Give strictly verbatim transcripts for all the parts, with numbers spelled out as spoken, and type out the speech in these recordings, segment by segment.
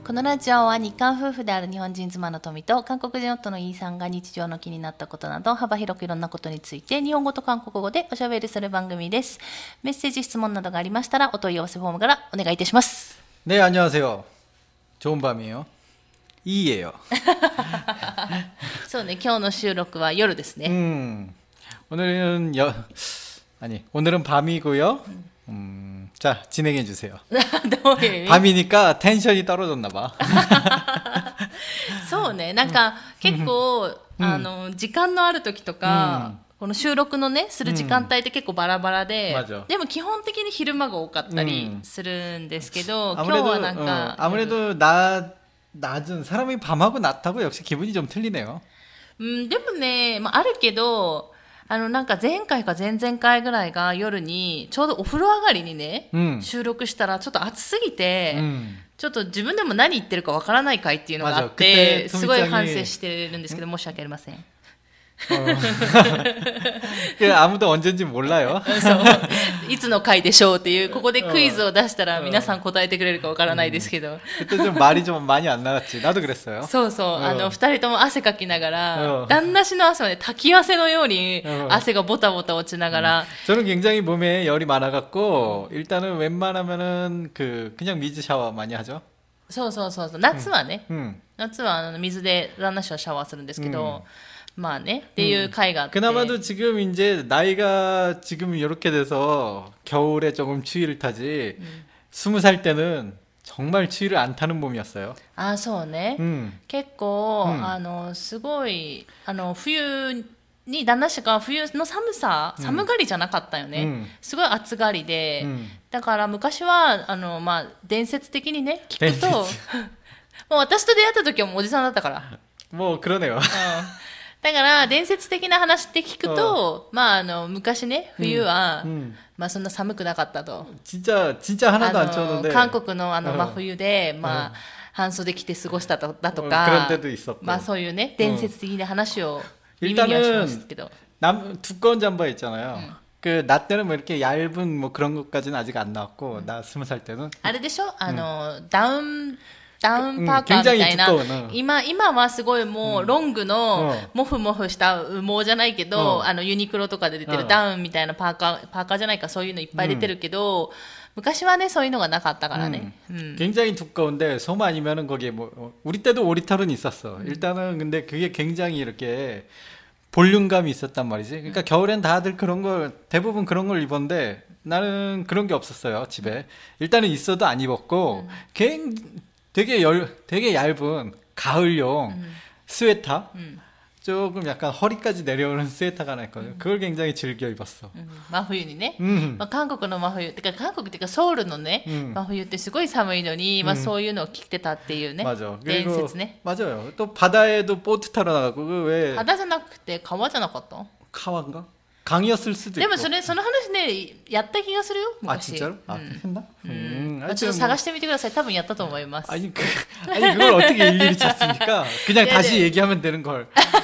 このラジオは日韓夫婦である日本人妻の富と韓国人夫のイーさんが日常の気になったことなど幅広くいろんなことについて日本語と韓国語でおしゃべりする番組です。メッセージ質問などがありましたらお問い合わせフォームからお願いいたします。 네 안녕하세요. 좋은 밤이에요. 이예요. そうね、今日の収録は夜ですね。 음, 오늘은 여, 아니 오늘은 밤이고요. 음, 자 진행해 주세요. どういう意味？ 밤이니까 텐션이 떨어졌나 봐. そうね、なんか結構あの時間のある時とか、この収録のねする時間帯って結構バラバラで、でも基本的に昼間が多かったりするんですけど、今日はなんか 아무래도 낮 낮은 사람이 밤하고 낮하고 역시 기분이 좀 틀리네요. うん、でもね、まあ、あるけど、あのなんか前回か前々回ぐらいが夜にちょうどお風呂上がりにね、うん、収録したらちょっと暑すぎて、うん、ちょっと自分でも何言ってるかわからない回っていうのがあって、すごい反省してるんですけど、申し訳ありません。 아무도 언제인지 몰라요. いつの回でしょうっていうここでクイズを出したら皆さん答えてくれるかわからないですけど。 그때 좀 말이 좀 많이 안 나갔지. 나도 그랬어요. そうそう、あの二人とも汗かきながら、旦那氏の汗はね滝汗のように汗がボタボタ落ちながら。 저는 굉장히 몸에 열이 많아갖고 일단은 웬만하면은 그 그냥 미즈 샤워 많이 하죠. そうそうそうそう、夏はね、夏はあの水で旦那氏はシャワーするんですけど。 まあねっていう回があって、 그나마도 지금 이제 나이가 지금 이렇게 돼서 겨울에 조금 추위를 타지 음. 스무 살 때는 정말 추위를 안 타는 몸이었어요. 아, そうね。 음. 結構 음. あのすごいあの冬に旦那氏が冬の寒さ、寒がりじゃなかったよね。うん、すごい暑がりで、うん、だから昔はあのまあ伝説的にね聞くと、もう私と出会った時はもうおじさんだったから。 もう그러네요。うんだから伝説的な話って聞くと、まああの昔ね冬は、うんうん、まあそんな寒くなかったと。 진짜 진짜 하나도 안 추웠는데。 韓国のあの真冬で、まあ半袖着て過ごしただとか、まあそういうね伝説的な話を耳にはしますけど。 남 두꺼운 잠바 있잖아요. 음. 그 나 때는 뭐 이렇게 얇은 뭐 그런 것까지는 아직 안 나왔고, 나 스무 살 때는. あれでしょ？あのダウン ダウンパーカーみたいな、今、今はすごいもうロングのモフモフした羽毛じゃないけど、あのユニクロとかで出てるダウンみたいなパーカー、パーカーじゃないかそういうのいっぱい出てるけど、昔はねそういうのがなかったからね。 굉장히 두꺼운데 솜 아니면은 거기에 뭐 우리 때도 오리털은 있었어. 일단은 근데 그게 굉장히 이렇게 볼륨감이 있었단 말이지. 그러니까 겨울엔 다들 그런 걸 대부분 그런 걸 입었는데 나는 그런 게 없었어요 집에. 일단은 있어도 안 입었고, 굉 되게 열, 되게 얇은 가을용 음. 스웨터, 음. 조금 약간 허리까지 내려오는 스웨터가 하나 있거든요. 음. 그걸 굉장히 즐겨 입었어. 음. 真冬にね、 음. まあ、韓国の真冬てか韓国っていうかソウルのね、 음. 真冬ってすごい寒いのに、 まあ、そういうのを着てたっていうね、 맞아. 伝説ね。 맞아요. 또 바다에도 보트 타러 나가고. 그 왜 バダじゃなくて川じゃなかった？ 川인가? 강이었을 수도 있고. でもそれその話ねやった気がするよ昔。 아 진짜로? 아 했나? 음. 음. ちょっと探してみてください。多分やったと思います。 아니 그 아니 그걸 어떻게 일일이 찾습니까? 그냥 다시 얘기하면 되는 걸.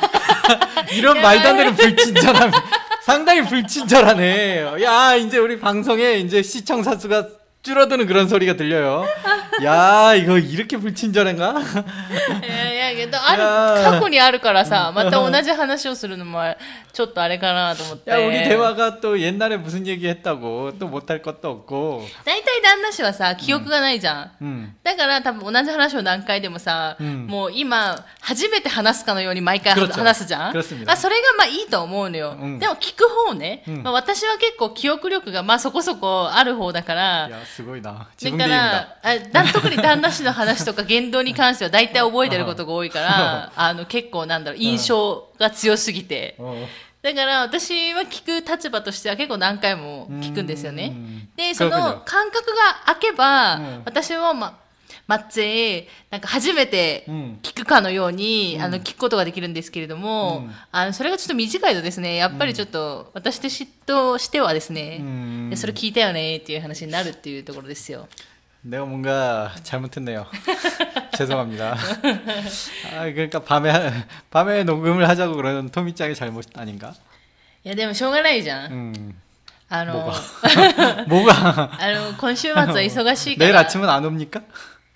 이런 말도 안 되는 불친절함. 상당히 불친절하네. 야, 이제 우리 방송에 이제 시청자 수가 줄어드는 그런 소리가 들려요. 야, 이거 이렇게 불친절한가? いやいや、ある過去にあるからさ、また同じ話をするのもちょっとあれかなと思って。 야, 우리 대화가 또 옛날에 무슨 얘기 했다고 또 못할 것도 없고. 大体旦那氏はさ記憶がないじゃん。うん、だから多分同じ話を何回でもさ、うん、もう今初めて話すかのように毎回話すじゃん。あ、それがまあいいと思うのよ。うん、でも聞く方ね、うん、まあ、私は結構記憶力がまあそこそこある方だから。 すごいな。自分で言うんだ。だから特に旦那氏の話とか言動に関しては大体覚えてることが多いから、あの結構なんだろう印象が強すぎて、だから私は聞く立場としては結構何回も聞くんですよね。でその感覚が空けば、私はまマッチェなんか初めて聞くかのように、うん、あの聞くことができるんですけれども、うん、あのそれがちょっと短いとですねやっぱりちょっと私としてはですね、うん、それ聞いたよねっていう話になるっていうところですよ。 내가 뭔가 잘못했네요. 죄송합니다. 아, 그러니까 밤에 밤에 녹음을 하자고 그러는 토미짱의 잘못 아닌가? いやでもしょうがないじゃん。うん あの 뭐가? 뭐가? あの今週末は忙しいから。 내일 아침은 안 옵니까?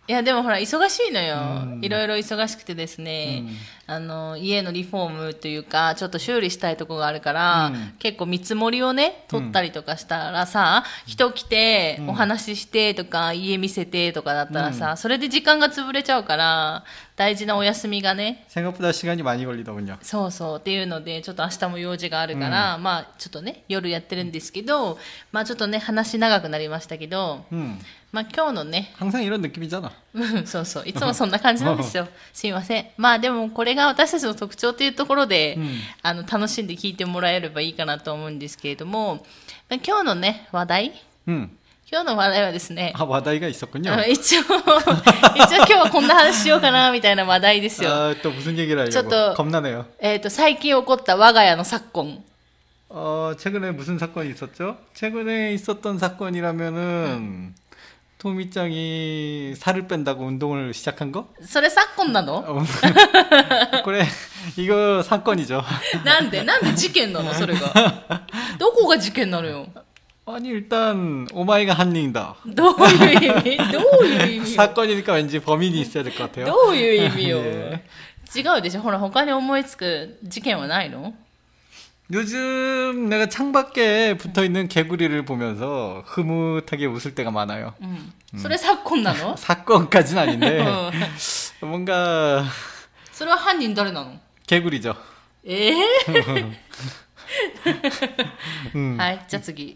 いやでもほら忙しいのよ、うん、いろいろ忙しくてですね、うん、あの家のリフォームというかちょっと修理したいところがあるから、うん、結構見積もりをね取ったりとかしたらさ、うん、人来てお話ししてとか、うん、家見せてとかだったらさ、それで時間が潰れちゃうから大事なお休みがね 생각보다시간이많이걸리더군요 そうそうっていうのでちょっと明日も用事があるから、まあちょっとね夜やってるんですけど、まあちょっとね話長くなりましたけど、まあ今日のね 항상이런느낌이잖아 そうそういつもそんな感じなんですよすいません。まあでもこれが私たちの特徴というところで、うん、あの楽しんで聞いてもらえればいいかなと思うんですけれども、今日のね話題、うん、今日の話題はですね、 あ話題が있었군요 一応一応今日はこんな話しようかなみたいな話題ですよ。 あと무슨 얘기를 하려고ちょっと겁나네요。 えっと最近起こった我が家の昨今。 어 최근에 무슨 사건이 있었죠? 최근에 있었던 사건이라면은 음. 토미짱이 살을 뺀다고 운동을 시작한 거? それ昨今なの? 그래 이거 사건이죠. なんでなんで事件なのそれが? どこが事件なのよ? 아니 일단 오마이가 한닝이다. どういう意味?どういう意味? 사건이니까 왠지 범인이 있어야 될 것 같아요. どういう意味よ? 違うでしょ。ほら他に思いつく事件はないの? 요즘 내가 창밖에 붙어있는 개구리를 보면서 흐뭇하게 웃을 때가 많아요. 음. 음. それ 사건なの? 사건까지는 아닌데 뭔가 それは犯人誰なの? 개구리죠. 에? 음. はいじゃあ次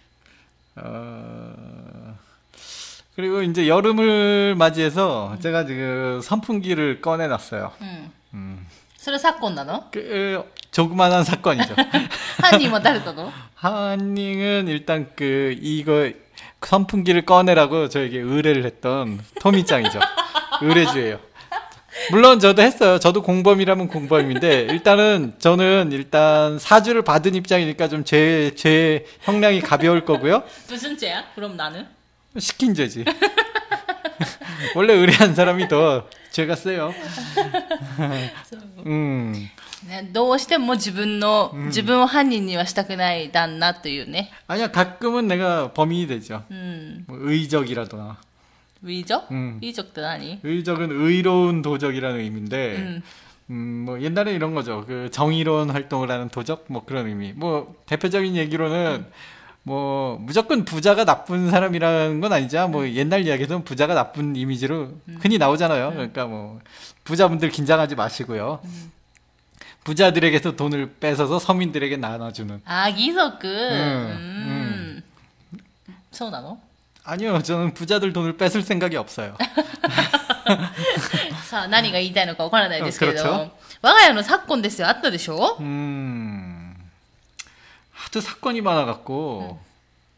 어... 그리고 이제 여름을 맞이해서 음. 제가 지금 선풍기를 꺼내놨어요. 음. 음. それ 사건なの? 그 조그만한 사건이죠. 한님은誰だの? 한님은 일단 그 이거 선풍기를 꺼내라고 저에게 의뢰를 했던 토미짱이죠. 의뢰주예요. 물론 저도 했어요. 저도 공범이라면 공범인데 일단은 저는 일단 사주를 받은 입장이니까 좀 제 제 형량이 가벼울 거고요. 무슨 죄야? 그럼 나는? 시킨 죄지. 원래 의뢰한 사람이 더 죄가 세요. うんね、どうしても自分の、うん、自分を犯人にはしたくない旦那というね。 아니야 가끔은 내가 범인이 되죠. 음. 뭐 의적이라거나. 의적? 음. 의적도 아니? 의적은 의로운 도적이라는 의미인데, 음. 음, 뭐 옛날에 이런 거죠. 그 정의로운 활동을 하는 도적, 뭐 그런 의미. 뭐 대표적인 얘기로는. 음. 뭐 무조건 부자가 나쁜 사람이라는 건 아니죠. 뭐 옛날 이야기에서는 부자가 나쁜 이미지로 흔히 나오잖아요. 그러니까 뭐 부자분들 긴장하지 마시고요. 부자들에게서 돈을 뺏어서 서민들에게 나눠주는. 아, 기석은. 음. 음. そうなの? 아니요, 저는 부자들 돈을 뺏을 생각이 없어요. さあ、何が言いたいのかわからないですけれど、我が家の昨今ですよ。あったでしょ? 음. 하도 사건이 많아갖고. 응.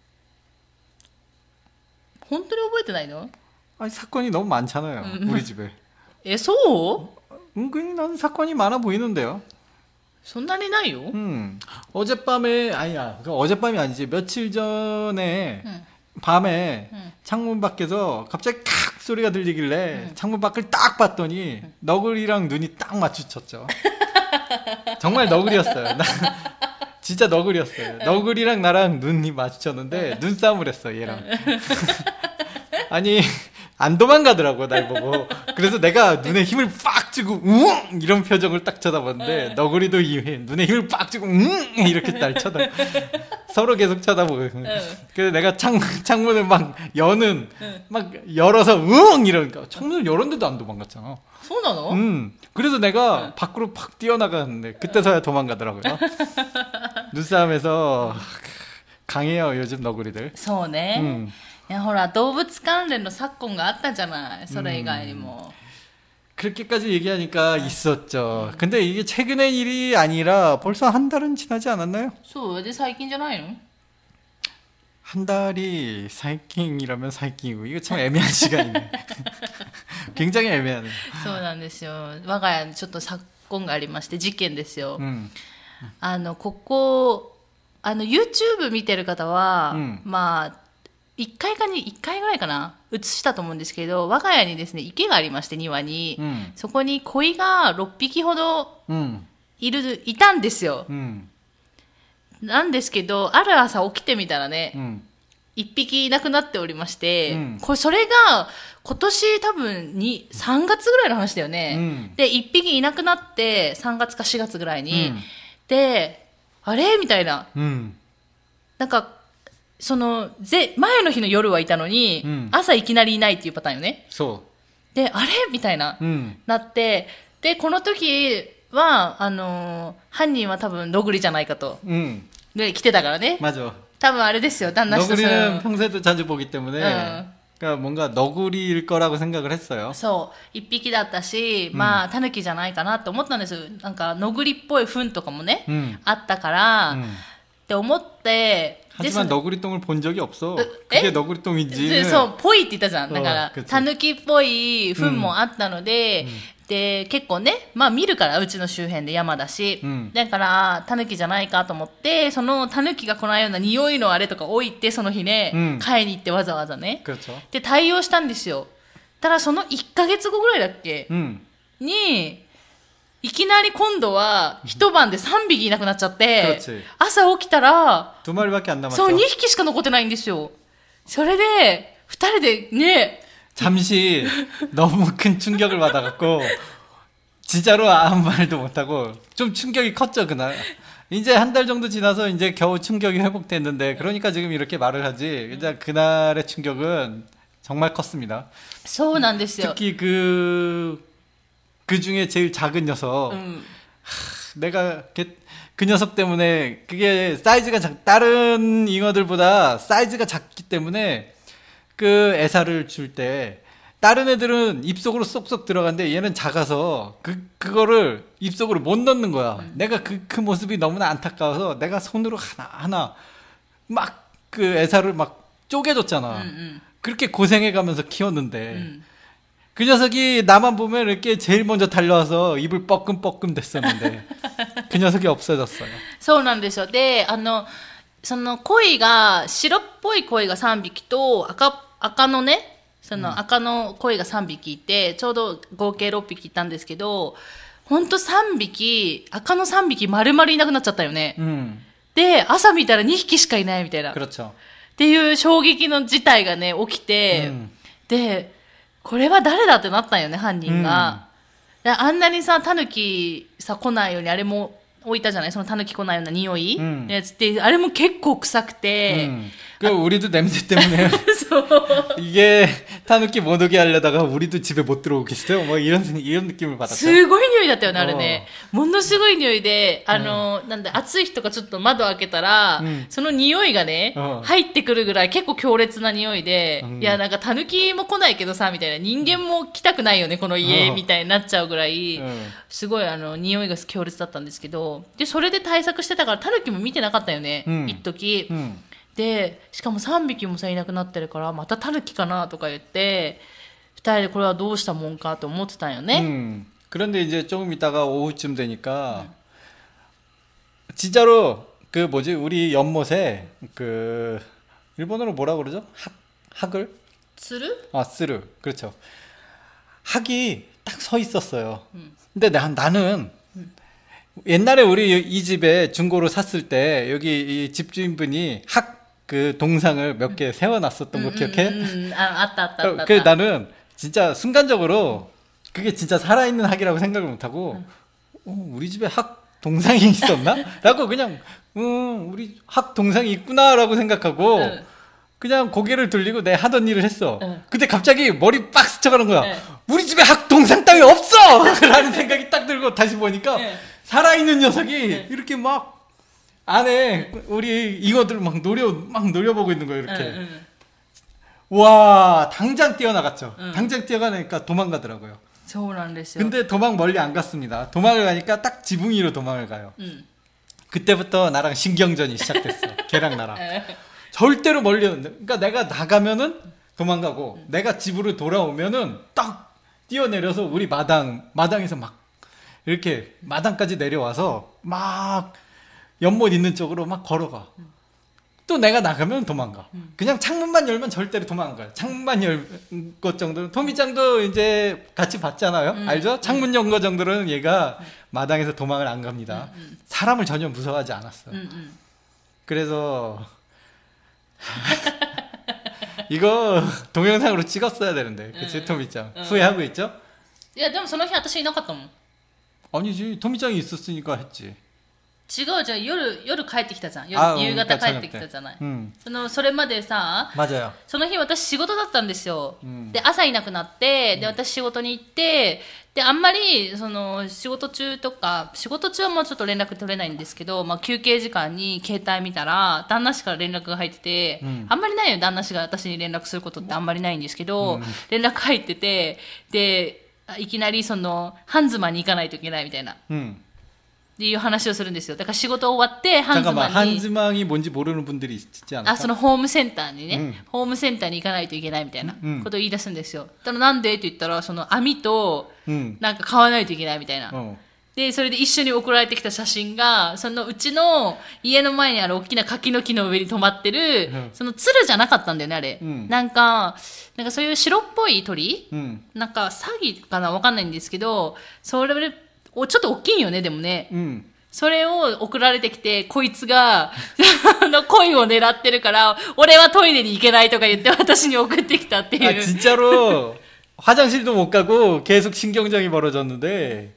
本当に覚えてないの? 아니 사건이 너무 많잖아요. 음. 우리 집에. 에, 소? 은근히 나는 사건이 많아 보이는데요. そんなにないよ? 음. 어젯밤에 아니야. 어젯밤이 아니지. 며칠 전에 응. 밤에 응. 창문 밖에서 갑자기 칵 소리가 들리길래 응. 창문 밖을 딱 봤더니 응. 너구리랑 눈이 딱 마주쳤죠. 정말 너구리였어요. 진짜 너구리였어요. 너구리랑 나랑 눈이 마주쳤는데 눈싸움을 했어 얘랑. 아니 안 도망가더라고 날 보고. 그래서 내가 눈에 힘을 빡 주고 웅 이런 표정을 딱 쳐다봤는데 너구리도 눈에 힘을 빡 주고 웅 이렇게 날 쳐다. 서로 계속 쳐다보고. 그래서 내가 창 창문을 막 여는 막 열어서 웅 이러니까 창문을 열었는데도 안 도망갔잖아. 소나노? 음. 그래서 내가 응. 밖으로 팍 뛰어나갔는데 그때서야 도망가더라고요. 눈싸움에서 강해요 요즘 너구리들. そうね. 음. いやほら動物関連の昨今があったじゃない。それ以外にも. 그렇게까지 얘기하니까 있었죠. 근데 이게 최근의 일이 아니라 벌써 한 달은 지나지 않았나요? そう、で最近じゃないの? 한 달이 사이킹이라면 사이킹이고 이거 참 애매한 시간이네. 굉장히 애매하네. そうなんですよ。我が家にちょっと昨今がありまして事件ですよ。うん、あのここあの YouTube 見てる方は、うん、まあいっかいかにいっかいぐらいかな映したと思うんですけど、我が家にですね池がありまして庭に、うん、そこに鯉がろっぴきほどいる、いたんですよ。うん、なんですけどある朝起きてみたらね、うん、 一匹いなくなっておりまして、うん、これそれが今年多分にさんがつぐらいの話だよね、うん、で一匹いなくなってさんがつかしがつぐらいに、うん、であれみたいな、うん、なんかそのぜ前の日の夜はいたのに、うん、朝いきなりいないっていうパターンよね。そうであれみたいな、うん、なってでこの時はあのー、犯人は多分ノグリじゃないかと、うん、で来てたからね。맞아多分あれですよ。旦那氏と 너구리는평소에도자주보기때문에그러니까뭔가너구리일거라고생각을했어요 そう一匹だったし、まあタヌキじゃないかなと思ったんですよ。なんかノグリっぽい糞とかもね、うん、あったから、うん、って思って。 하지만 너구리똥을 본 적이 없어. 그게 너구리똥인지. そう、ぽいって言ったじゃん。だから、タヌキっぽい糞もあったので、で、結構ね、まあ見るから、うちの周辺で山だし、だから、タヌキじゃないかと思って、そのタヌキが来ないような匂いのあれとか置いて、その日ね、買いに行ってわざわざね。で、対応したんですよ。ただ、そのいっかげつごぐらいだっけに、いきなり今度は一晩でさんびきいなくなっちゃって、朝起きたら、そう、にひきしか残ってないんですよ。それで、二人でね、 잠시 너무 큰 충격을 받아갖고 진짜로 아무 말도 못하고 좀 충격이 컸죠 그날. 이제 한 달 정도 지나서 이제 겨우 충격이 회복됐는데 그러니까 지금 이렇게 말을 하지. 이제 그날의 충격은 정말 컸습니다. 특히 그 그 중에 제일 작은 녀석. 음. 하, 내가 그, 그 녀석 때문에 그게 사이즈가 작, 다른 잉어들보다 사이즈가 작기 때문에 그 애사를 줄 때 다른 애들은 입속으로 쏙쏙 들어가는데 얘는 작아서 그, 그거를 입속으로 못 넣는 거야. 음. 내가 그, 그 모습이 너무나 안타까워서 내가 손으로 하나하나 막 그 애사를 막 쪼개줬잖아. 음, 음. 그렇게 고생해가면서 키웠는데 음. 그 녀석이 나만 보면 이렇게 제일 먼저 달려와서 입을 뻐끔뻐끔 됐었는데 그 녀석이 없어졌어요. そうなんですよ。で、あのその鯉が白っぽい鯉がさんびきと赤赤のね、その赤の鯉がさんびきいて、ちょうど合計ろっぴきいたんですけど、ほんとさんびき赤のさんびき丸々いなくなっちゃったよね。うん、で、朝見たらにひきしかいないみたいな。っていう衝撃の事態がね起きて、うん、で。これは誰だってなったんよね、犯人が。うん、あんなにさ、タヌキさ、来ないように、あれも置いたじゃないそのタヌキ来ないような匂いのやつって、あれも結構臭くて。 うん그 우리도 냄새 때문에 이게 타누키 못 오게 하려다가 우리도 집에 못 들어오겠어요. 뭐 이런 이런 느낌을 받았어요. すごい匂いだったよねあれね。ものすごい匂いで、あの、うん、なんだ暑い日とかちょっと窓開けたら、うん、その匂いがね、うん、入ってくるぐらい結構強烈な匂いで、うん、いやなんかタヌキも来ないけどさみたいな、人間も来たくないよねこの家、うん、みたいになっちゃうぐらい、うん、すごいあの匂いが強烈だったんですけど、でそれで対策してたからタヌキも見てなかったよね、うん、一時。うんでしかもさんびきもさいなくなってるからまたタヌキかなとか言ってふたりでこれはどうしたもんかと思ってたんよね。うん、 그런데 이제 조금 있다가 오후쯤 되니까 음. 진짜로 그 뭐지 우리 연못에 그 일본어로 뭐라 그러죠? 학 학을? 쓰르? 아 쓰르 그렇죠. 학이 딱 서 있었어요. 음. 근데 나, 나는 음. 옛날에 우리 이 집에 중고로 샀을 때 여기 이 집주인분이 학 그 동상을 몇 개 세워놨었던 거 음, 기억해? 음, 음. 아, 아따, 아따, 아따. 그 나는 진짜 순간적으로 그게 진짜 살아있는 학이라고 생각을 못하고 음. 어, 우리 집에 학 동상이 있었나? 라고 그냥 음, 우리 학 동상이 있구나라고 생각하고 음. 그냥 고개를 돌리고 내 하던 일을 했어. 음. 근데 갑자기 머리 빡 스쳐가는 거야. 음. 우리 집에 학 동상 따위 없어! 라는 생각이 딱 들고 다시 보니까 음. 살아있는 녀석이 음. 이렇게 막 안에 우리 잉어들 막 노려 막 노려보고 있는 거예요 이렇게. 응, 응. 와 당장 뛰어나갔죠. 응. 당장 뛰어가니까 도망가더라고요. 근데 도망 멀리 안 갔습니다. 도망을 가니까 딱 지붕 위로 도망을 가요. 응. 그때부터 나랑 신경전이 시작됐어. 걔랑 나랑. 절대로 멀리 그러니까 내가 나가면은 도망가고 응. 내가 집으로 돌아오면은 딱 뛰어내려서 우리 마당 마당에서 막 이렇게 마당까지 내려와서 막 연못 있는 쪽으로 막 걸어가. 음. 또 내가 나가면 도망가. 음. 그냥 창문만 열면 절대로 도망가요. 창문만 열 것 정도는 토미짱도 이제 같이 봤잖아요. 음. 알죠? 창문 연 거 정도는 얘가 음. 마당에서 도망을 안 갑니다. 음, 음. 사람을 전혀 무서워하지 않았어요. 음, 음. 그래서 이거 동영상으로 찍었어야 되는데. 그치, 토미짱. 후회하고 있죠? いやでもその日私いなかったもん。 아니지, 토미짱이 있었으니까 했지. 違うじゃん、夜夜帰ってきたじゃん。夜夕方帰ってきたじゃない。そのそれまでさ、その日私仕事だったんですよ。で朝いなくなって、で私仕事に行って、であんまりその仕事中とか仕事中はもうちょっと連絡取れないんですけど、まあ休憩時間に携帯見たら旦那氏から連絡が入ってて、あんまりないよ旦那氏が私に連絡することってあんまりないんですけど、連絡入ってて、でいきなりその半妻に行かないといけないみたいな。っていう話をするんですよ。だから仕事終わって半妻に。 半妻に뭔지 모르는 분들이 있지 않을까? あ、そのホームセンターにね、うん、ホームセンターに行かないといけないみたいなことを言い出すんですよ。だからなんでって言ったらその網となんか買わないといけないみたいな。うん、でそれで一緒に送られてきた写真がそのうちの家の前にある大きな柿の木の上に止まってる、うん、その鶴じゃなかったんだよねあれ。うん、なんかなんかそういう白っぽい鳥、うん、なんかサギかなわかんないんですけど、それおちょっと大きいよねでもね、うん、それを送られてきてこいつが恋を狙ってるから俺はトイレに行けないとか言って私に送ってきたっていう。 あ、진짜로 화장실도 못 가고 계속 신경전이 벌어졌는데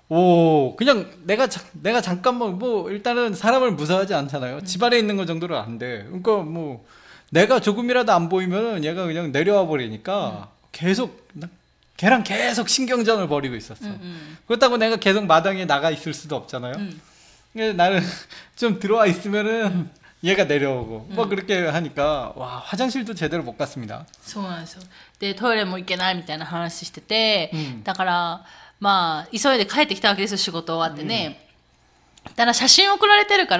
오 그냥 내가 자, 내가 잠깐만 뭐 일단은 사람을 무서워하지 않잖아요. 음. 집안에 있는 거 정도는 안 돼. 그러니까 뭐 내가 조금이라도 안 보이면 얘가 그냥 내려와 버리니까 음. 계속 걔랑 계속 신경전을 벌이고 있었어. 음, 음. 그렇다고 내가 계속 마당에 나가 있을 수도 없잖아요. 음. 나는 좀 들어와 있으면은 음. 얘가 내려오고 음. 뭐 그렇게 하니까 와 화장실도 제대로 못 갔습니다. そうなんですよ。でトイレも行けないみたいな話してて、だからまあ急いで帰ってきたわけですよ仕事終わってね。だから写真送られてるから。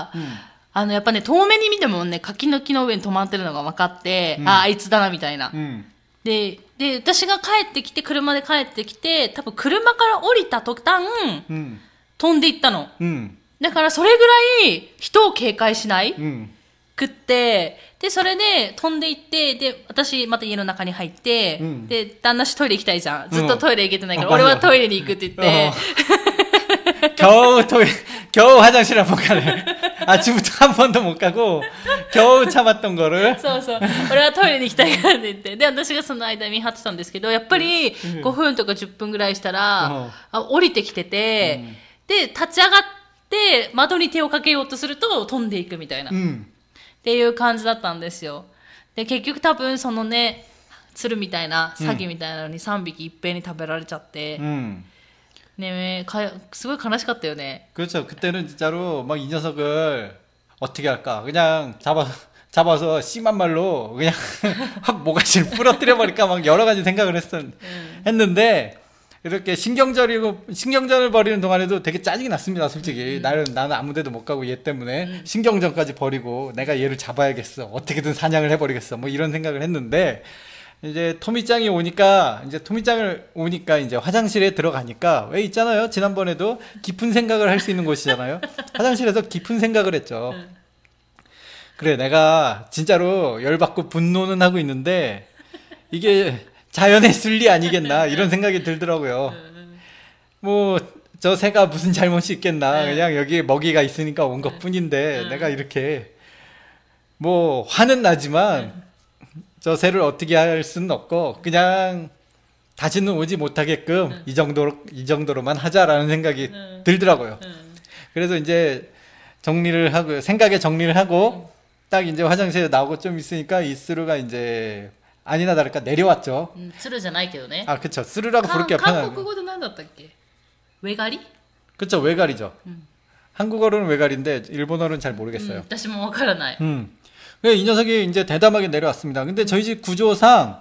あのやっぱね遠目に見てもね柿の木の上に止まってるのが分かって、ああいつだなみたいな。でで私が帰ってきて車で帰ってきて多分車から降りた途端、うん、飛んでいったの、うん、だからそれぐらい人を警戒しない、うん、くってでそれで飛んでいってで私また家の中に入って、うん、で旦那氏トイレ行きたいじゃんずっとトイレ行けてないから、うん、俺はトイレに行くって言って 겨우トイレ겨우 화장실 한번 가네. 아침부터 한 번도 못 가고 겨우 참았던 거를 そうそう俺はトイレに行きたいからって言ってで私がその間見張ってたんですけどやっぱりごふんとかじゅっぷんぐらいしたら、うん、あ降りてきてて、うん、で立ち上がって窓に手をかけようとすると飛んでいくみたいな、うん、っていう感じだったんですよ。で結局多分そのね鶴みたいなサギみたいなのにさんびきいっぺんに食べられちゃって、うん네, 정말 悲しかったよね. 그렇죠. 그때는 진짜로 막 이 녀석을 어떻게 할까? 그냥 잡아 잡아서 심한 말로 그냥 확 모가지를 부러뜨려 버릴까 막 여러 가지 생각을 했었 음. 했는데 이렇게 신경절이고 신경전을 벌이는 동안에도 되게 짜증이 났습니다. 솔직히 음. 나는 나는 아무데도 못 가고 얘 때문에 음. 신경전까지 벌이고 내가 얘를 잡아야겠어. 어떻게든 사냥을 해버리겠어. 뭐 이런 생각을 했는데. 이제 토미짱이 오니까 이제 토미짱을 오니까 이제 화장실에 들어가니까 왜 있잖아요. 지난번에도 깊은 생각을 할 수 있는 곳이잖아요. 화장실에서 깊은 생각을 했죠. 그래 내가 진짜로 열받고 분노는 하고 있는데 이게 자연의 순리 아니겠나 이런 생각이 들더라고요. 뭐 저 새가 무슨 잘못이 있겠나 그냥 여기 먹이가 있으니까 온 것뿐인데 내가 이렇게 뭐 화는 나지만 저 새를 어떻게 할 수는 없고 그냥 다시는 오지 못하게끔 응. 이 정도로 이 정도로만 하자라는 생각이 응. 들더라고요. 응. 그래서 이제 정리를 하고 생각에 정리를 하고 딱 이제 화장실에 나오고 좀 있으니까 이 스루가 이제 아니나 다를까 내려왔죠. 음, 스루잖아요,ね. 아, 그렇죠. 스루라고 부를게요. 편하게. 한국어도 뭐였다っけ? 외가리? 그렇죠. 외가리죠. 음. 한국어로는 외가리인데 일본어로는 잘 모르겠어요. 私もわからない. 음. 이 녀석이 이제 대담하게 내려왔습니다. 근데 저희 집 구조상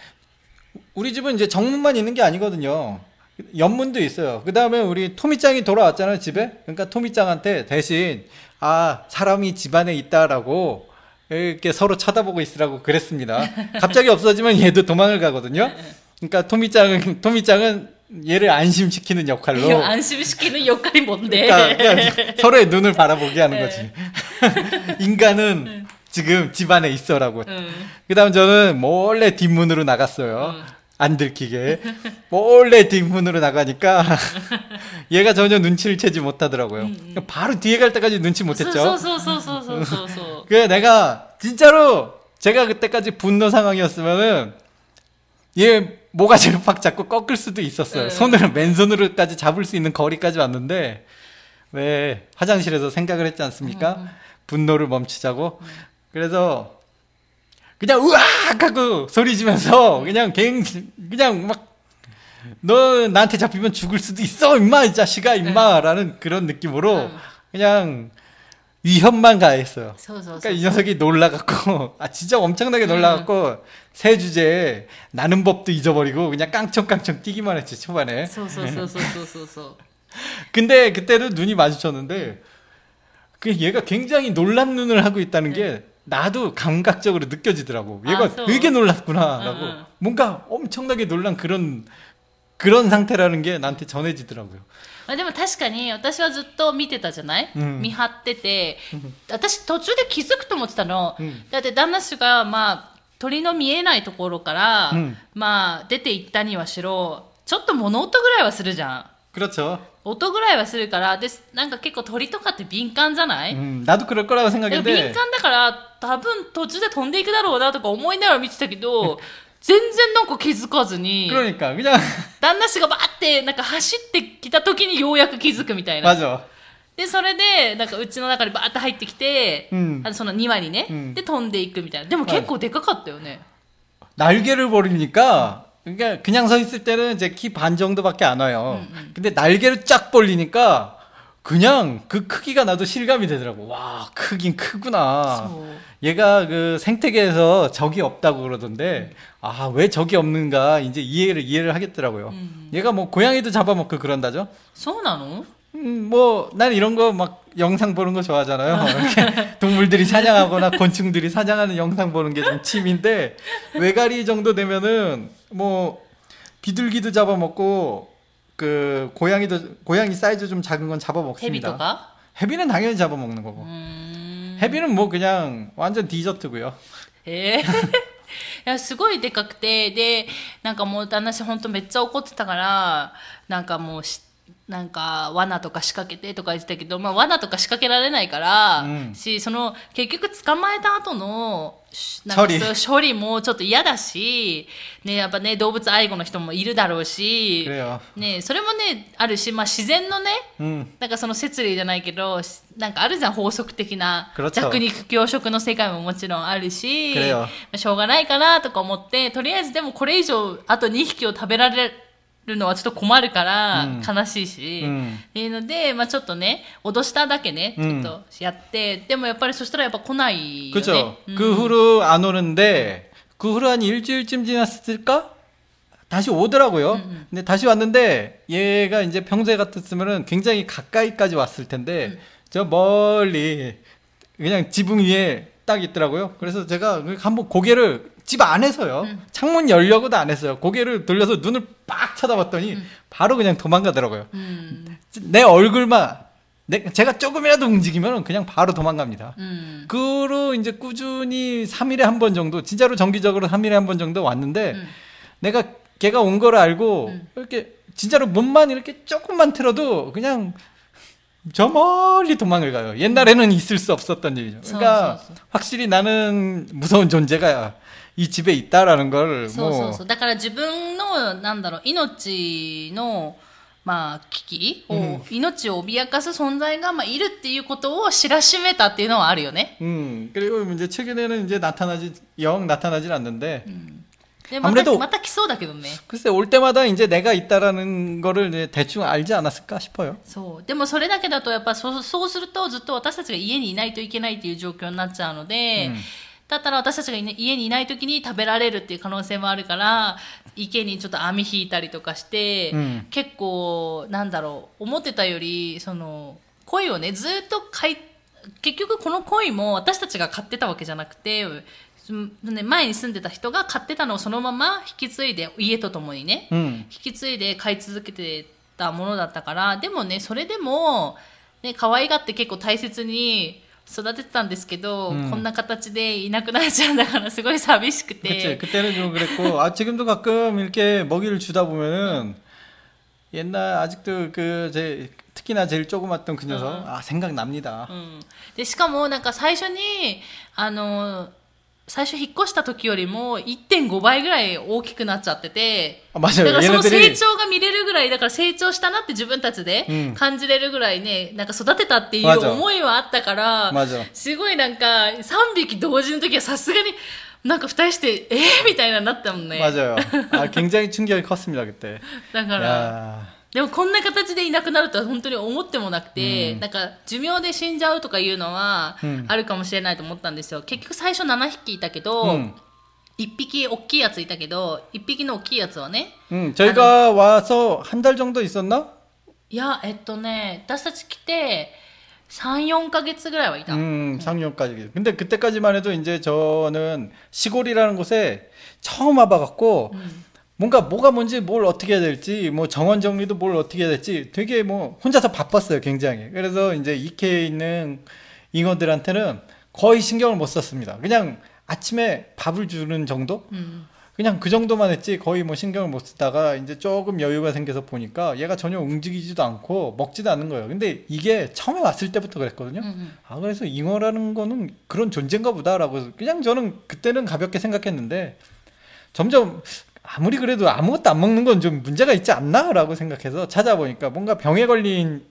우리 집은 이제 정문만 있는 게 아니거든요. 옆문도 있어요. 그 다음에 우리 토미짱이 돌아왔잖아요, 집에. 그러니까 토미짱한테 대신 아 사람이 집안에 있다라고 이렇게 서로 쳐다보고 있으라고 그랬습니다. 갑자기 없어지면 얘도 도망을 가거든요. 그러니까 토미짱은 토미짱은 얘를 안심시키는 역할로. 안심시키는 역할이 뭔데? 그러니까 그냥 서로의 눈을 바라보게 하는 거지. 인간은 지금 집안에 있어라고. 응. 그 다음 저는 몰래 뒷문으로 나갔어요. 응. 안 들키게. 몰래 뒷문으로 나가니까 얘가 전혀 눈치를 채지 못하더라고요. 응, 응. 바로 뒤에 갈 때까지 눈치 못했죠. 소소소소소소소. 그래 내가 진짜로 제가 그때까지 분노 상황이었으면은 얘 모가지를 팍 잡고 꺾을 수도 있었어요. 네. 손으로 맨손으로까지 잡을 수 있는 거리까지 왔는데 왜 화장실에서 생각을 했지 않습니까? 음. 분노를 멈추자고. 음. 그래서 그냥 으악 하고 소리 지면서 그냥 갱 그냥 막 너 나한테 잡히면 죽을 수도 있어 임마 이 자식아 임마라는 그런 느낌으로 음. 그냥 위협만 가했어요. 그러니까 이 녀석이 놀라갖고 아 진짜 엄청나게 놀라갖고 음. 새 주제에 나는 법도 잊어버리고 그냥 깡총깡총 뛰기만 했지 초반에. 근데 그때도 눈이 마주쳤는데 그 얘가 굉장히 놀란 눈을 하고 있다는 게 네. 나도 감각적으로 느껴지더라고. 얘가 아, 되게 놀랐구나라고. 응, 응. 뭔가 엄청나게 놀란 그런 그런 상태라는 게 나한테 전해지더라고요. でも確かに私はずっと見てたじゃない、うん、見張ってて私途中で気づくと思ってたの、うん、だって旦那氏が、まあ、鳥の見えないところから、うんまあ、出て行ったにはしろちょっと物音ぐらいはするじゃん。 그렇죠。 音ぐらいはするからでなんか結構鳥とかって敏感じゃない、うん、 나도 그럴 거라고 생각했는데 敏感だから多分途中で飛んでいくだろうなとか思いながら見てたけど全然なんか気づかずに 그러니까 그냥 旦那氏がバーってなんか走ってきた時にようやく気づくみたいな 맞아. でそれでなんかうちの中にバーって入ってきて、うん、その庭にね、うん、で飛んでいくみたいなでも結構でかかったよね 날개를 벌리니까 그러니까 그냥 서 있을 때는 제 키 반 정도밖에 안 와요. 음, 음. 근데 날개를 쫙 벌리니까 그냥 그 크기가 나도 실감이 되더라고. 와, 크긴 크구나. 그쵸. 얘가 그 생태계에서 적이 없다고 그러던데, 음. 아, 왜 적이 없는가 이제 이해를 이해를 하겠더라고요. 음. 얘가 뭐 고양이도 잡아먹고 그런다죠? そうなの? 음, 뭐, 난 이런 거 막 영상 보는 거 좋아하잖아요. 이렇게 동물들이 사냥하거나 곤충들이 사냥하는 영상 보는 게 좀 취미인데, 외가리 정도 되면은, 뭐, 비둘기도 잡아먹고, 그, 고양이도, 고양이 사이즈 좀 작은 건 잡아먹습니다. 해비도가? 해비는 당연히 잡아먹는 거고. 음... 해비는 뭐 그냥 완전 디저트고요. 에? いやすごいでかくてでなんかもう旦那氏本当めっちゃ怒ってたからなんかもうなんか罠とか仕掛けてとか言ってたけど、まあ、罠とか仕掛けられないから、うん、しその結局捕まえた後のなんか処理もちょっと嫌だし、ね、やっぱね動物愛護の人もいるだろうし、ね、それもねあるし、まあ、自然のね、うん、なんかその摂理じゃないけどなんかあるじゃん法則的な弱肉強食の世界ももちろんあるし、まあ、しょうがないかなとか思ってとりあえずでもこれ以上あとにひきを食べられるのはちょっと困るから悲しいし、うん、っていうので、まあ、ちょっとね脅しただけねちょっとやって、うん、でもやっぱりそしたらやっぱ来ないよね。 그렇죠. 음. 그 후로 안 오는데 그 후로 한 일주일쯤 지났을까? 다시 오더라고요. 음. 근데 다시 왔는데 얘가 이제 평소에 같았으면은 굉장히 가까이까지 왔을 텐데 음. 저 멀리 그냥 지붕 위에 딱 있더라고요. 그래서 제가 한번 고개를 집 안에서요. 음. 창문 열려고도 안 했어요. 고개를 돌려서 눈을 빡 쳐다봤더니 음. 바로 그냥 도망가더라고요. 음. 내 얼굴만 내, 제가 조금이라도 움직이면 그냥 바로 도망갑니다. 음. 그로 이제 꾸준히 삼 일에 한 번 정도 진짜로 정기적으로 삼 일에 한 번 정도 왔는데 음. 내가 걔가 온 거를 알고 음. 이렇게 진짜로 몸만 이렇게 조금만 틀어도 그냥 저 멀리 도망을 가요. 옛날에는 있을 수 없었던 일이죠. 그러니까 확실히 나는 무서운 존재가 이 집에 있다라는 걸 そうそうそうだから自分のなんだろう命のまあ危機を、うん、命を脅かす存在がまあいるっていうことを知らしめたっていうのはあるよね. 음 그리고 이제 최근에는 이제 나타나지 영 나타나질 않는데. 음. 아무래도また来そうだけどね. 글쎄 올 때마다 이제 내가 있다라는 거를 대충 알지 않았을까 싶어요. そう。でもそれだけだとやっぱそうそうするとずっと私たちが家にいないといけないっていう状況になっちゃうので。うんだったら私たちが家にいない時に食べられるっていう可能性もあるから池にちょっと網引いたりとかして、うん、結構なんだろう思ってたよりその鯉をねずっと飼い結局この鯉も私たちが飼ってたわけじゃなくて前に住んでた人が飼ってたのをそのまま引き継いで家とともにね、うん、引き継いで飼い続けてたものだったからでもねそれでも、ね、可愛がって結構大切に育ててたんですけど、음. こんな形でいなくなっちゃうんだからすごい寂しくて. 그치, 그때는 좀 그랬고, 아, 지금도 가끔 이렇게 먹이를 주다 보면은, 옛날, 아직도 그, 제, 특히나 제일 조그맣던 그 녀석, 음. 아, 생각납니다. 음. で、しかも、なんか最初に、あの、 最初引っ越した時よりも いってんご 倍ぐらい大きくなっちゃってて、 あ、맞아요。 だからその成長が見れるぐらい、だから成長したなって自分たちで感じれるぐらいね、なんか育てたっていう思いはあったから、すごいなんかさんびき同時の時はさすがになんか二人してえーみたいななったもんね。 맞아요。あ、굉장히 충격이 컸습니다 그때。 だからでもこんな形でいなくなるとは本当に思ってもなくて、うん、なんか寿命で死んじゃうとかいうのはあるかもしれないと思ったんですよ。結局最初ななひきいたけど、うん、いっぴき大きいやついたけど、いっぴきの大きいやつはね。 うん、저희가 와서 한 달 정도 있었나? いや、えっとね、私たち来てさん、よんかげつぐらいはいた。 음, 삼 년까지. 근데 그때까지만 해도 이제 저는 시골이라는 곳에 처음 와봐갖고 음. 뭔가 뭐가 뭔지 뭘 어떻게 해야 될지 뭐 정원 정리도 뭘 어떻게 해야 될지 되게 뭐 혼자서 바빴어요 굉장히. 그래서 이제 이케에 있는 잉어들한테는 거의 신경을 못 썼습니다. 그냥 아침에 밥을 주는 정도? 음. 그냥 그 정도만 했지 거의 뭐 신경을 못 쓰다가 이제 조금 여유가 생겨서 보니까 얘가 전혀 움직이지도 않고 먹지도 않는 거예요. 근데 이게 처음에 왔을 때부터 그랬거든요. 음. 아, 그래서 잉어라는 거는 그런 존재인가 보다라고 그냥 저는 그때는 가볍게 생각했는데 점점 아무리 그래도 아무것도 안 먹는 건 좀 문제가 있지 않나? 라고 생각해서 찾아보니까 뭔가 병에 걸린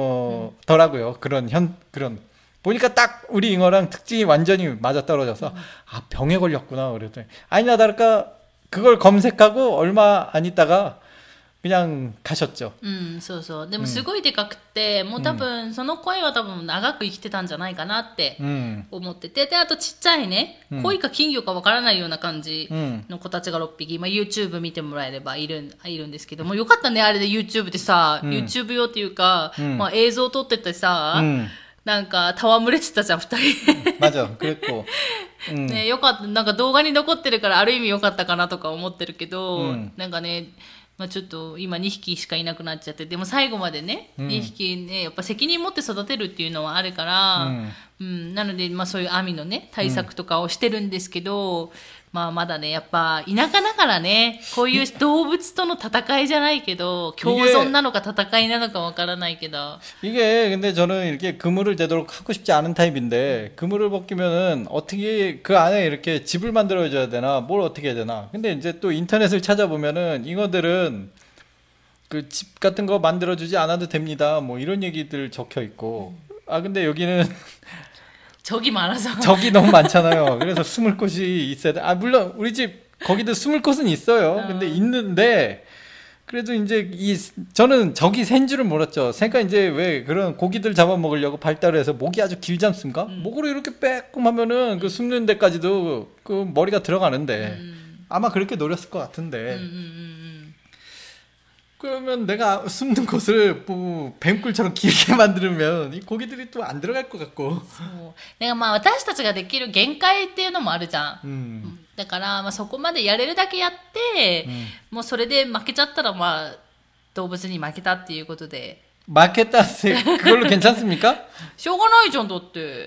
잉어더라고요. 그런 현, 그런. 보니까 딱 우리 잉어랑 특징이 완전히 맞아떨어져서 아, 병에 걸렸구나. 그랬더니 아니나 다를까 그걸 검색하고 얼마 안 있다가 그냥 가셨죠. 음, そうそう。でもすごいでかくて、もう多分その声は多分長く生きてたんじゃないかなって思ってて、であとちっちゃいね、恋か金魚かわからないような感じの子たちがろっぴき、まあ YouTube 見てもらえればいるいるんですけども、よかったねあれで YouTube でさ、うん、YouTube 用っていうか、うん、まあ映像撮っててさ、うん、なんか戯れてたじゃん二人。 맞아、그랬고。 ね、よかった。なんか動画に残ってるからある意味よかったかなとか思ってるけど、うん、なんかね。まあ、ちょっと今にひきしかいなくなっちゃって、でも最後までね、うん、にひきねやっぱ責任持って育てるっていうのはあるから、うんうん、なので、まあ、そういう網のね対策とかをしてるんですけど、うん、まあまだねやっぱ田舎だからねこういう動物との戦いじゃないけど共存なのか戦いなのかわからないけど 이게근데저는이렇게그물을제대로하고싶지않은타입인데그물을벗기면은어떻게해야되나뭘어떻게해야되나근데이제또인터넷을찾아보면은 그 집 같은 거 만들어주지 않아도 됩니다. 뭐 이런 얘기들 적혀 있고. 아 근데 여기는 적이 많아서 적이 너무 많잖아요. 그래서 숨을 곳이 있어야 돼. 아 물론 우리 집 거기도 숨을 곳은 있어요. 근데 있는데 그래도 이제 이 저는 적이 센 줄은 몰랐죠. 그러니까 이제 왜 그런 고기들 잡아먹으려고 발달해서 목이 아주 길지 않습니까? 음. 목으로 이렇게 빼꼼하면은 그 숨는 데까지도 그 머리가 들어가는데 음. 아마 그렇게 노렸을 것 같은데. 음, 음, 음. 그러면 내가 숨는 곳을 뭐 뱀꿀처럼 길게 만들면 이 고기들이 또 안 들어갈 것 같고. だからまあ私たちができる限界っていうのもあるじゃん。うん、だからまあそこまでやれるだけやって、うん、もうそれで負けちゃったらまあ動物に負けたっていうことで。 負けたって그걸로 괜찮습니까? しょうがないじゃんだって。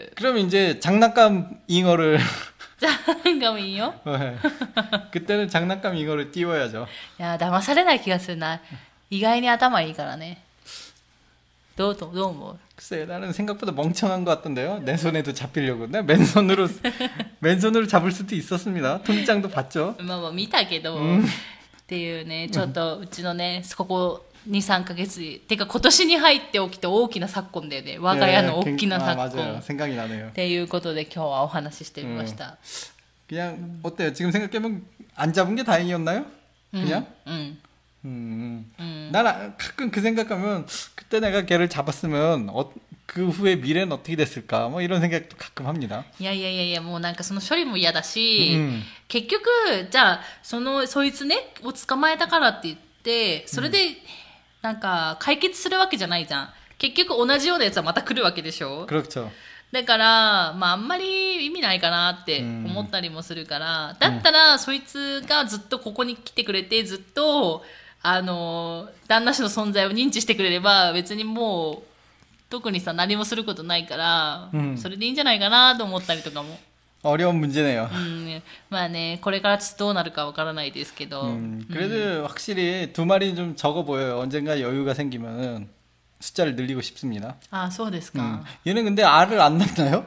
그럼 이제 장난감 잉어를 장난감 잉어? 네. 그때는 장난감 잉어를 띄워야죠. 야, 騙されない気がするな. 意外に頭いいからね. どうどうどう思う? 글쎄, 나는 생각보다 멍청한 것 같던데요. 내 손에도 잡히려고. 내 맨손으로 맨손으로 잡을 수도 있었습니다. 통장도 봤죠. まあまあ見たけど、うん、っていうね、ちょっとうちのね、ここに、さんかげつてか今年に入って起きた大きな昨今だよね。我が家の大きな昨今。っていうことで今日はお話ししてみました。 그냥 어때요? 지금 생각해보면 안 잡은 게 다행이었나요? 그냥? 응. 음. 음. 난 가끔 그 생각하면 그때 내가 걔를 잡았으면 어, 그 후에 미래는 어떻게 됐을까? 뭐 이런 생각도 가끔 합니다. いやいやいやいやもうなんかその処理も嫌だし、うん、結局じゃあそのそいつねを捕まえたからって言ってそれで、うんなんか解決するわけじゃないじゃん。結局同じようなやつはまた来るわけでしょ。 그렇죠。 だからまああんまり意味ないかなって思ったりもするから、だったらそいつがずっとここに来てくれてずっとあの旦那氏の存在を認知してくれれば別にもう特にさ何もすることないから、うん、それでいいんじゃないかなと思ったりとかも。 어려운 문제네요. 음, まあね, これからどうなるかわからないですけど. 음, 그래도 음. 확실히 두 마리 좀 적어 보여요. 언젠가 여유가 생기면은 숫자를 늘리고 싶습니다. 아, そうですか. 음. 얘는 근데 알을 안 낳나요?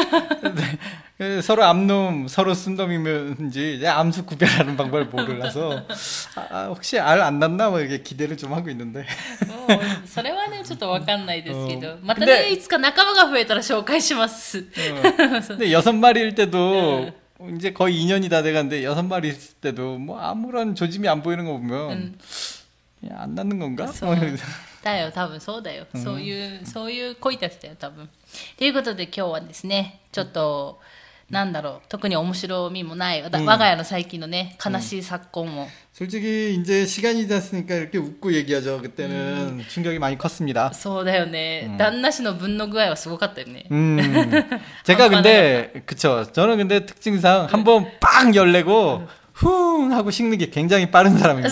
네. 서로 암놈, 서로 순놈이면지 암수 구별하는 방법을 몰라서 아, 혹시 알 안 낳나 뭐 이렇게 기대를 좀 하고 있는데. それはねちょっとわかんないですけど、またねいつか仲間が増えたら紹介します. 근데 여섯 마리일 때도 이제 거의 이 년이 다 돼가는데 여섯 마리 있을 때도 뭐 아무런 조짐이 안 보이는 거 보면 음. 안 낳는 건가? だよ多分そうだよ、うん、そういうそういう恋たちだよ多分。ということで今日はですねちょっと、うん、なんだろう特に面白みもない、うん、我が家の最近のね悲しい昨今を。 솔직히 이제 시간이 됐으니까 이렇게 웃고 얘기하죠. 그때는 음. 충격이 많이 컸습니다. そうだよね. 음.旦那氏の分の具合はすごかったよね. 음. 제가 근데 그쵸. 저는 근데 특징상 한번 빵 열내고 쿵 하고 식는 게 굉장히 빠른 사람입니다.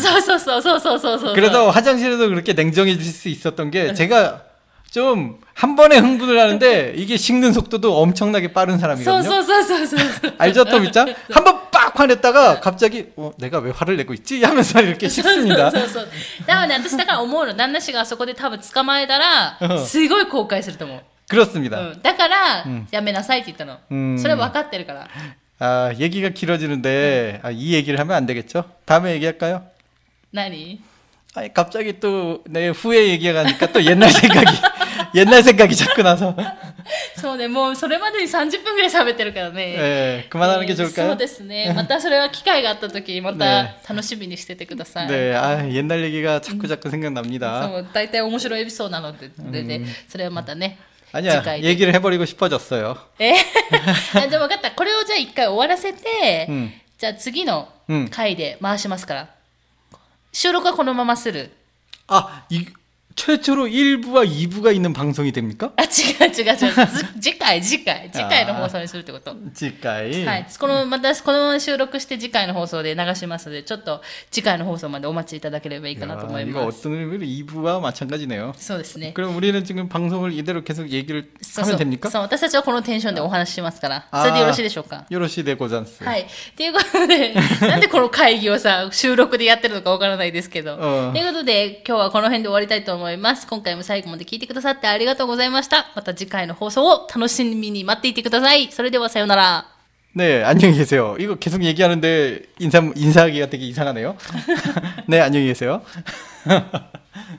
그래서 화장실에도 그렇게 냉정해질 수 있었던 게 제가 좀 한 번에 흥분을 하는데 이게 식는 속도도 엄청나게 빠른 사람이거든요. 알죠, 또 있죠? 한 번 빡 화냈다가 갑자기 어, 내가 왜 화를 내고 있지? 하면서 이렇게 식습니다. だからね、私だから思うの。旦那氏がそこで多分捕まえたらすごい後悔すると思う. 그렇습니다. うん、だからやめなさいって言ったの. 음. それ分かってるから. 아, 얘기가 길어지는데 아, 이 얘기를 하면 안 되겠죠? 다음에 얘기할까요? 何? 아니, 갑자기 또 내 후에 얘기하니까 또 옛날 생각이 옛날 생각이 자꾸 나서. そうね、もうそれまでにさんじゅっぷんぐらい喋ってるからね. 네, 그만하는 게 좋을까요? そうですね。またそれは機会があった時また楽しみにしててください. 네, 아, 옛날 얘기가 자꾸 자꾸 생각납니다. そう、大体面白いエピソードなので、で、それはまたね. 아니야, 얘기를 해버리고 싶어졌어요. えじゃあ分かった。これをじゃあ一回終わらせて、うん、じゃあ次の回で回しますから。収録はこのままする。 아, 이 최초로 일 부와 이 부가 있는 방송이 됩니까? 아, 違う違う違う。次回、次回。次回の放送にするってこと。 次回。 はい。この、また、このまま収録して次回の放送で流しますので、ちょっと次回の放送までお待ちいただければいいかなと思います。 이거 어떤 의미로 이 부와 마찬가지네요. そうですね。 그럼 우리는 지금 방송을 이대로 계속 얘기를 하면 됩니까? そう、私たちはこのテンションでお話ししますから。それでよろしいでしょうか? よろしいでござんす。 はい。ということで、なんでこの会議をさ、収録でやってるのかわからないですけど。ということで、今日はこの辺で終わりたいと思います。今回も最後まで聞いてくださってありがとうございました。また次回の放送を楽しみに待っていてください。それではさようなら。 네, 안녕히 계세요. 이거 계속 얘기하는데 인사 인사하기가 되게 이상하네요. 네, 안녕히 계세요.